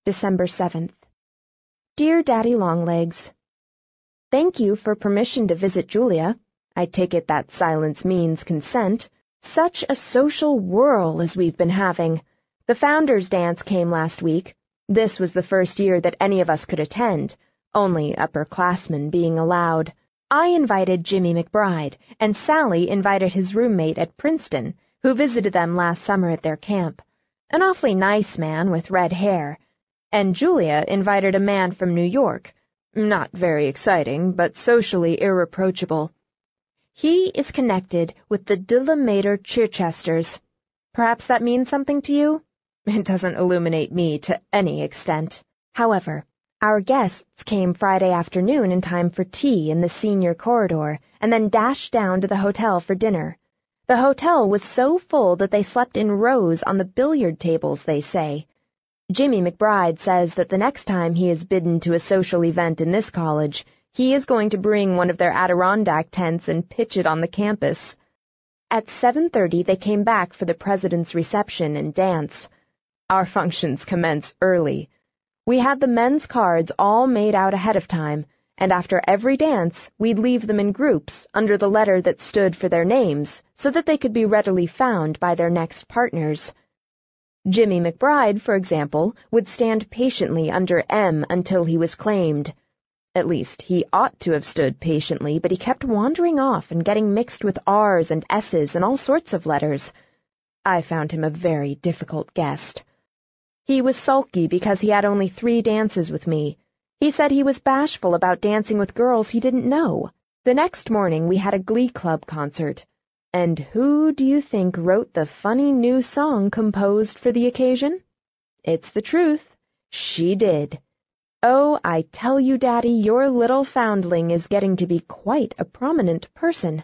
December 7th. Dear Daddy Longlegs, thank you for permission to visit Julia. I take it that silence means consent. Such a social whirl as we've been having. The Founders' Dance came last week. This was the first year that any of us could attend, only upperclassmen being allowed. I invited Jimmy McBride, and Sally invited his roommate at Princeton, who visited them last summer at their camp. An awfully nice man with red hair. And Julia invited a man from New York. Not very exciting, but socially irreproachable. He is connected with the De La Mater Chichesters. Perhaps that means something to you? It doesn't illuminate me to any extent. However, our guests came Friday afternoon in time for tea in the senior corridor, and then dashed down to the hotel for dinner. The hotel was so full that they slept in rows on the billiard tables, they say. Jimmy McBride says that the next time he is bidden to a social event in this college, he is going to bring one of their Adirondack tents and pitch it on the campus. At 7:30 they came back for the president's reception and dance. Our functions commence early. We had the men's cards all made out ahead of time, and after every dance we'd leave them in groups under the letter that stood for their names so that they could be readily found by their next partners. Jimmy McBride, for example, would stand patiently under M until he was claimed. At least, he ought to have stood patiently, but he kept wandering off and getting mixed with R's and S's and all sorts of letters. I found him a very difficult guest. He was sulky because he had only 3 dances with me. He said he was bashful about dancing with girls he didn't know. The next morning we had a glee club concert. And who do you think wrote the funny new song composed for the occasion? It's the truth. She did. Oh, I tell you, Daddy, your little foundling is getting to be quite a prominent person.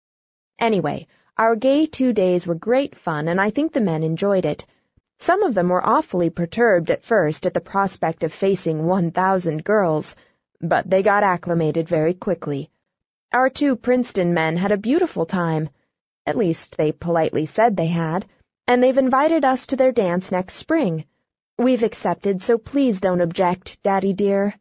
Anyway, our gay 2 days were great fun, and I think the men enjoyed it. Some of them were awfully perturbed at first at the prospect of facing 1,000 girls, but they got acclimated very quickly. Our 2 Princeton men had a beautiful time. At least they politely said they had, and they've invited us to their dance next spring. We've accepted, so please don't object, Daddy dear.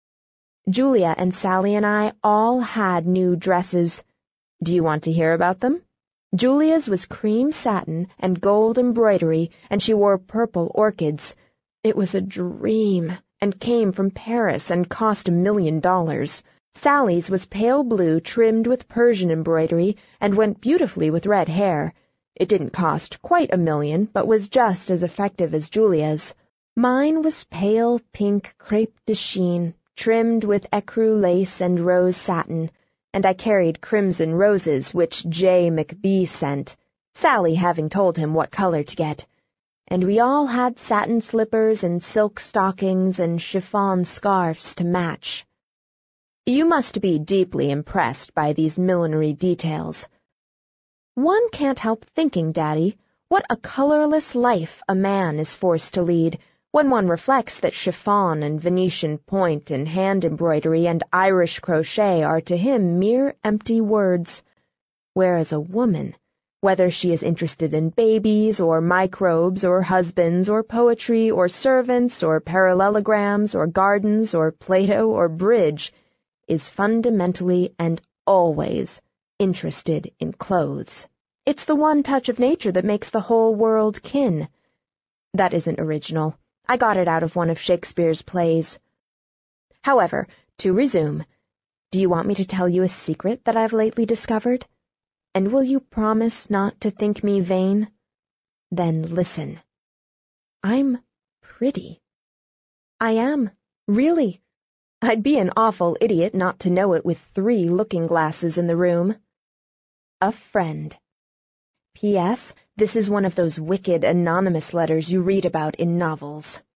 Julia and Sally and I all had new dresses. Do you want to hear about them? Julia's was cream satin and gold embroidery, and she wore purple orchids. It was a dream, and came from Paris and cost $1 million. Sally's was pale blue trimmed with Persian embroidery and went beautifully with red hair. It didn't cost quite $1 million, but was just as effective as Julia's. Mine was pale pink crepe de chine, trimmed with ecru lace and rose satin, and I carried crimson roses which J. McBee sent, Sally having told him what color to get. And we all had satin slippers and silk stockings and chiffon scarfs to match. You must be deeply impressed by these millinery details. One can't help thinking, Daddy, what a colorless life a man is forced to lead when one reflects that chiffon and Venetian point and hand embroidery and Irish crochet are to him mere empty words, whereas a woman, whether she is interested in babies or microbes or husbands or poetry or servants or parallelograms or gardens or Plato or bridge, is fundamentally and always interested in clothes. It's the one touch of nature that makes the whole world kin. That isn't original. I got it out of one of Shakespeare's plays. However, to resume, do you want me to tell you a secret that I've lately discovered? And will you promise not to think me vain? Then listen. I'm pretty. I am, really. I'd be an awful idiot not to know it with 3 looking-glasses in the room. A friend. P.S. This is one of those wicked anonymous letters you read about in novels.